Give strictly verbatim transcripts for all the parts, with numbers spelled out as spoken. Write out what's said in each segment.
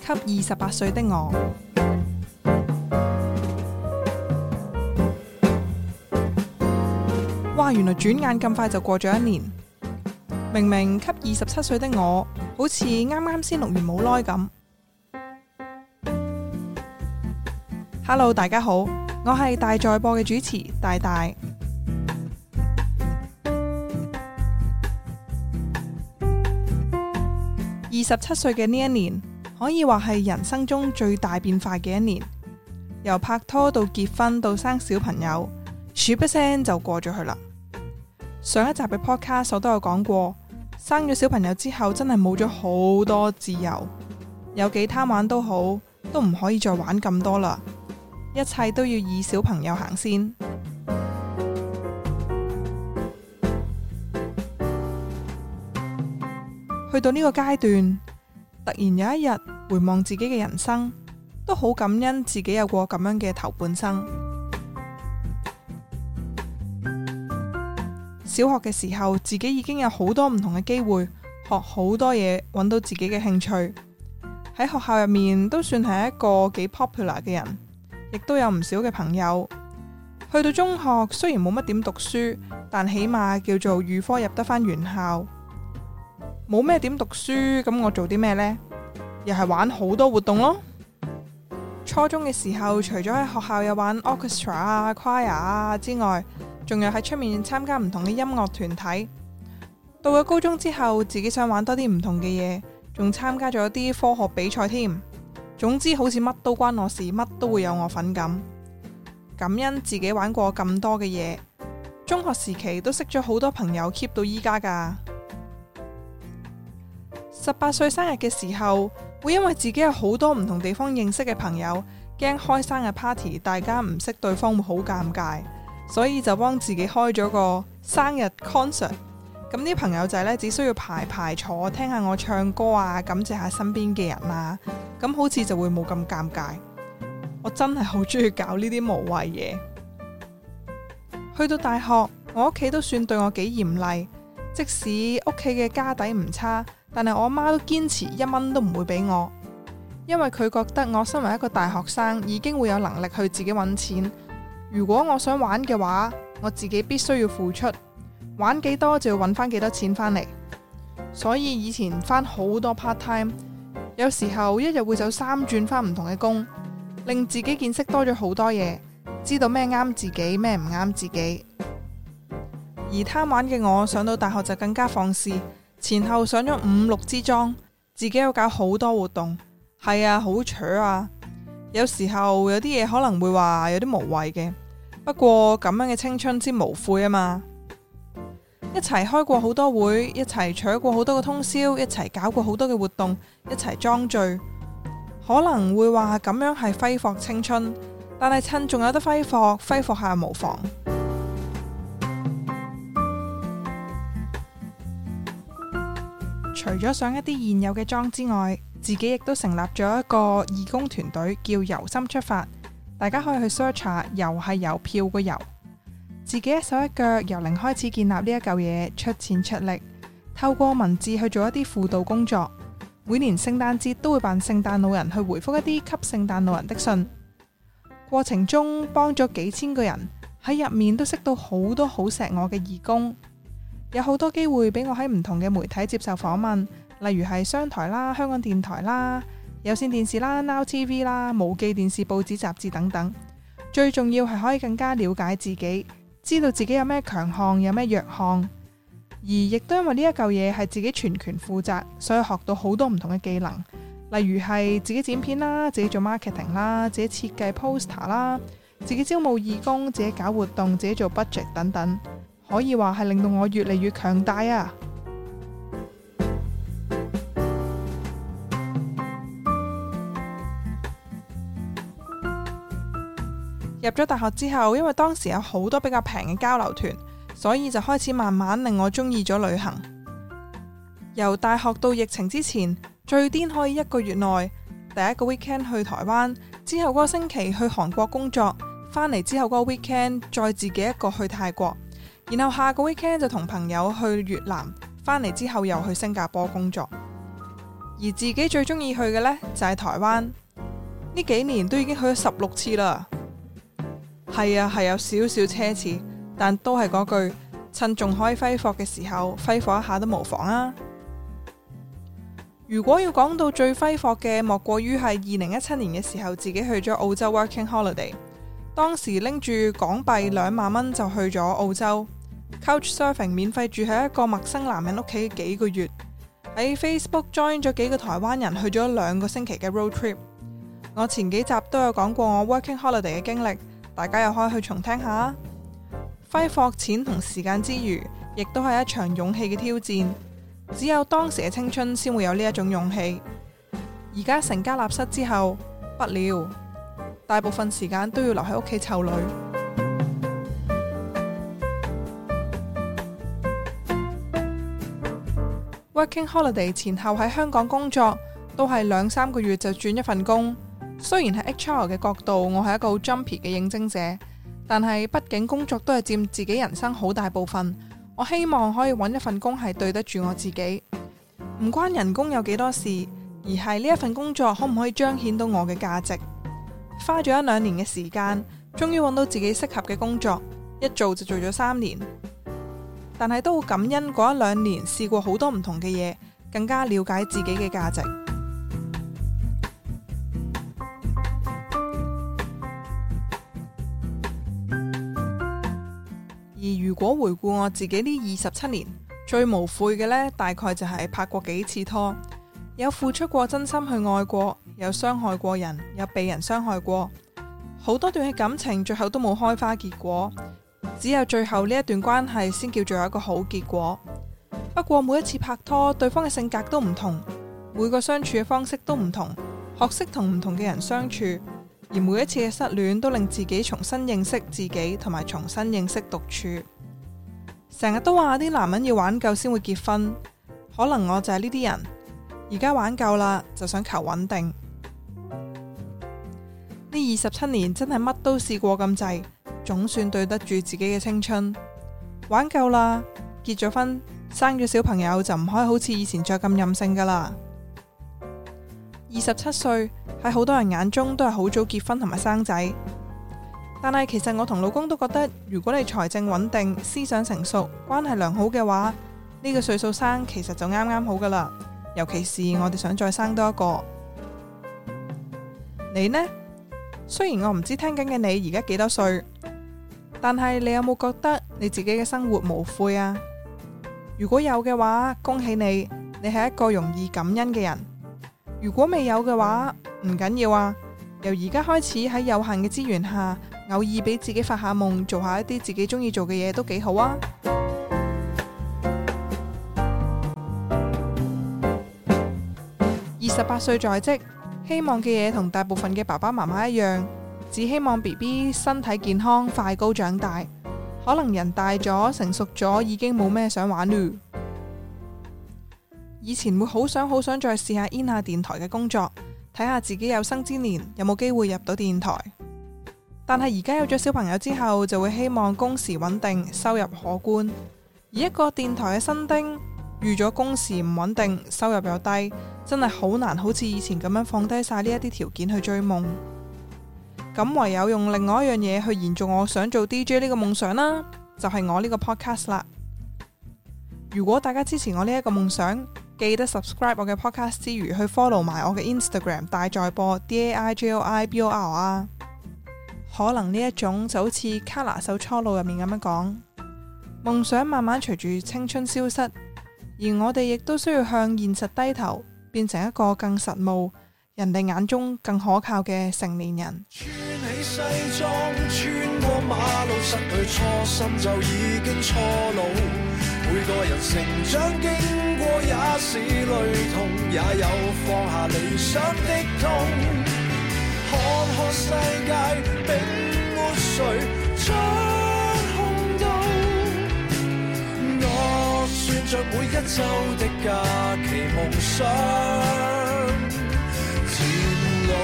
給二十八歲的我。哇，原來轉眼咁快就過咗一年。明明給二十七歲的我，好似啱啱先錄完冇耐咁。Hello， 大家好，我係大在播嘅主持大大。二十七歲嘅呢一年，可以話係人生中最大變化嘅一年。由拍拖到結婚到生小朋友，咻一聲就過咗去啦。上一集嘅 podcast 我都有講過，生咗小朋友之後真係冇咗好多自由，有幾貪玩都好，都唔可以再玩咁多啦，一切都要以小朋友行先。去到呢個階段，突然有一日回望自己嘅人生，都好感恩自己有過咁樣嘅頭半生。小學嘅時候，自己已經有好多唔同嘅機會，學好多嘢，揾到自己嘅興趣。喺學校入面都算係一個幾 popular 嘅人，亦都有唔少嘅朋友。去到中學，雖然冇乜點讀書，但起碼叫做預科入得返原校。冇咩點讀書，咁我做啲咩呢？又係玩好多活動咯。初中嘅時候，除咗喺學校有玩 orchestra 啊、choir 啊之外，仲有喺出面參加唔同嘅音樂團體。到咗高中之後，自己想玩多啲唔同嘅嘢，仲參加咗啲科學比賽添。總之好似乜都關我事，乜都會有我份咁。感恩自己玩過咁多嘅嘢，中學時期都識咗好多朋友 keep 到依家噶。十八歲生日嘅時候，會因為自己有好多唔同地方認識嘅朋友，驚開生日 party 大家唔識對方會好尷尬，所以就幫自己開咗個生日 concert。咁啲朋友仔呢，只需要排排坐，聽下我唱歌啊，感謝下身邊嘅人啊，咁好似就會冇咁尷尬。我真係好中意搞呢啲無謂嘢。去到大學，我屋企都算對我幾嚴厲，即使屋企嘅家底唔差，但係我阿媽都堅持一蚊都唔會俾我，因為佢覺得我身為一個大學生已經會有能力去自己揾錢。如果我想玩嘅話，我自己必須要付出，玩幾多就要揾翻幾多錢返嚟。所以以前返好多 part time， 有時候一日會走三轉返唔同嘅工，令自己見識多咗好多嘢，知道咩啱自己，咩唔啱自己。而貪玩嘅我上到大學就更加放肆，前後上咗五六支莊，自己有搞好多活動，係啊，好扯啊！有時候有啲嘢可能會話有啲無謂嘅，不過咁樣嘅青春先無悔啊嘛！一齊開過好多會，一齊搶過好多個通宵，一齊搞過好多嘅活動，一齊裝醉，可能會話咁樣係揮霍青春，但係趁仲有得揮霍，揮霍下無妨。除咗上一啲現有嘅莊之外，自己亦都成立咗一個義工團隊，叫遊心出發。大家可以去 search 下，遊係郵票個遊。自己一手一腳由零開始建立呢一嚿嘢，出錢出力，透過文字去做一啲輔導工作。每年聖誕節都會扮聖誕老人去回覆一啲給聖誕老人的信。過程中幫咗幾千個人，喺入面都識到好多好錫我嘅義工。有好多機會俾我喺唔同嘅媒體接受訪問，例如係商台啦、香港電台啦、有線電視啦、Now T V 啦、無記電視、報紙、雜誌等等。最重要係可以更加了解自己，知道自己有咩強項，有咩弱項。而亦都因為呢一嚿嘢係自己全權負責，所以學到好多唔同嘅技能，例如係自己剪片啦、自己做 marketing 啦、自己設計 poster 啦、自己招募義工、自己搞活動、自己做 budget 等等。可以話係令到我越嚟越強大啊！入咗大學之後，因為當時有好多比較平嘅交流團，所以就開始慢慢令我中意咗旅行。由大學到疫情之前，最癲可以一個月內第一個 weekend 去台灣，之後嗰個星期去韓國工作，返嚟之後嗰個 weekend 再自己一個去泰國。然後下個 weekend 就同朋友去越南，返嚟之後又去新加坡工作。 而自己最中意去嘅呢，就係台灣，呢幾年都已經去咗十六次啦。係啊，係有少少奢侈，但都係嗰句，趁仲可以揮霍嘅時候，揮霍一下都無妨啊。如果要講到最揮霍嘅，莫過於係二零一七年嘅時候，自己去咗澳洲 working holiday。當時拎住港幣兩萬蚊就去咗澳洲 ，couch surfing 免費住喺一個陌生男人屋企幾個月，喺 Facebook join 咗幾個台灣人去咗兩個星期嘅 road trip。我前幾集都有講過我 working holiday 嘅經歷，大家又可以去重聽下。揮霍錢同時間之餘，亦都係一場勇氣嘅挑戰。只有當時嘅青春先會有呢一種勇氣。而家成家立室之後，不了，大部分時間都要留喺屋企湊女。Working holiday 前後喺香港工作，都係兩三個月就轉一份工。雖然喺 H R 嘅角度，我係一個好 jumpy 嘅應徵者，但係畢竟工作都係佔自己人生好大部分。我希望可以揾一份工係對得住我自己，唔關人工有幾多事，而係呢一份工作可唔可以彰顯到我嘅價值。花咗一兩年嘅時間，終於揾到自己適合嘅工作，一做就做咗三年。但係都好感恩嗰一兩年試過好多唔同嘅嘢，更加了解自己嘅價值。而如果回顧我自己呢二十七年，最無悔嘅呢，大概就係拍過幾次拖，有付出過真心去愛過，有傷害過人，有被人傷害過，好多段嘅感情最後都冇開花結果，只有最後呢一段關係先叫做有一個好結果。不過每一次拍拖，對方嘅性格都唔同，每個相處嘅方式都唔同，學識同唔同嘅人相處。而每一次嘅失戀都令自己重新認識自己，同埋重新認識獨處。成日都話啲男人要玩夠先會結婚，可能我就係呢啲人。而家玩夠啦，就想求穩定。呢二十七年真係乜都試過咁滯，總算對得住自己嘅青春。玩夠啦，結咗婚，生咗小朋友就唔可以好似以前再咁任性噶啦。二十七歲喺好多人眼中都係好早結婚同埋生仔，但係其實我同老公都覺得，如果你財政穩定、思想成熟、關係良好嘅話，呢個歲數生其實就啱啱好噶啦。尤其是我哋想再生多一個。你呢？雖然我唔知聽緊嘅你而家幾多歲，但係你有冇覺得你自己嘅生活無悔啊？如果有嘅話，恭喜你，你係一個容易感恩嘅人。如果未有嘅話，唔緊要啊。由而家開始喺有限嘅資源下，偶爾俾自己發下夢，做下一啲自己中意做嘅嘢都幾好啊。二十八歲在職，希望嘅嘢同大部分嘅爸爸媽媽一樣，只希望 B B 身體健康，快高長大。可能人大咗，成熟咗，已經冇咩想玩嚕。以前會好想好想再試下 in 下電台嘅工作，睇下自己有生之年有冇機會入到電台。但係而家有咗小朋友之後，就會希望工時穩定，收入可觀。而一個電台嘅新丁，預咗工時唔穩定，收入又低，真係好難好似以前咁樣放低晒呢一啲條件去追夢。咁唯有用另外一樣嘢去延續我想做 D J 呢個夢想啦，就係我呢個 podcast 啦。如果大家支持我呢一個夢想，記得 subscribe 我嘅 podcast 之餘，去 follow 埋我嘅 Instagram 大在播 D A I J O I B O R 啊。可能呢一種就好似 Kala 首初路入面咁樣講，夢想慢慢隨住青春消失，而我哋亦都需要向現實低頭，變成一個更實務、人哋眼中更可靠嘅成年人。穿起西裝，穿過馬路，失去初心就已經初老。每個人成長經過也是雷同，也有放下理想的痛。看看世界並沒誰掌控到，我算着每一週的假期夢想漸老。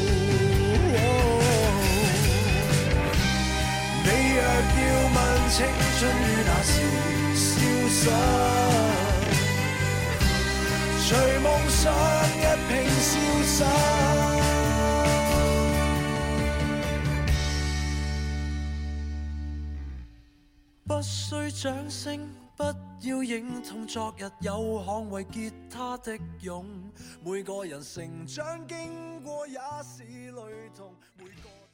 你若要問青春於那時消失，隨夢想不需掌聲，不要認同昨日有捍衛吉他的勇。每個人成長經過也是雷同，每個